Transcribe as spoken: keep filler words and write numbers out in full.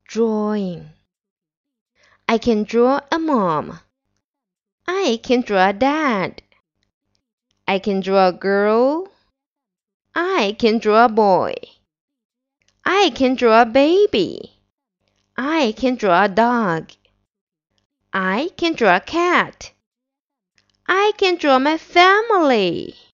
Drawing. I can draw a mom. I can draw a dad. I can draw a girl. I can draw a boy. I can draw a baby. I can draw a dog. I can draw a cat. I can draw my family.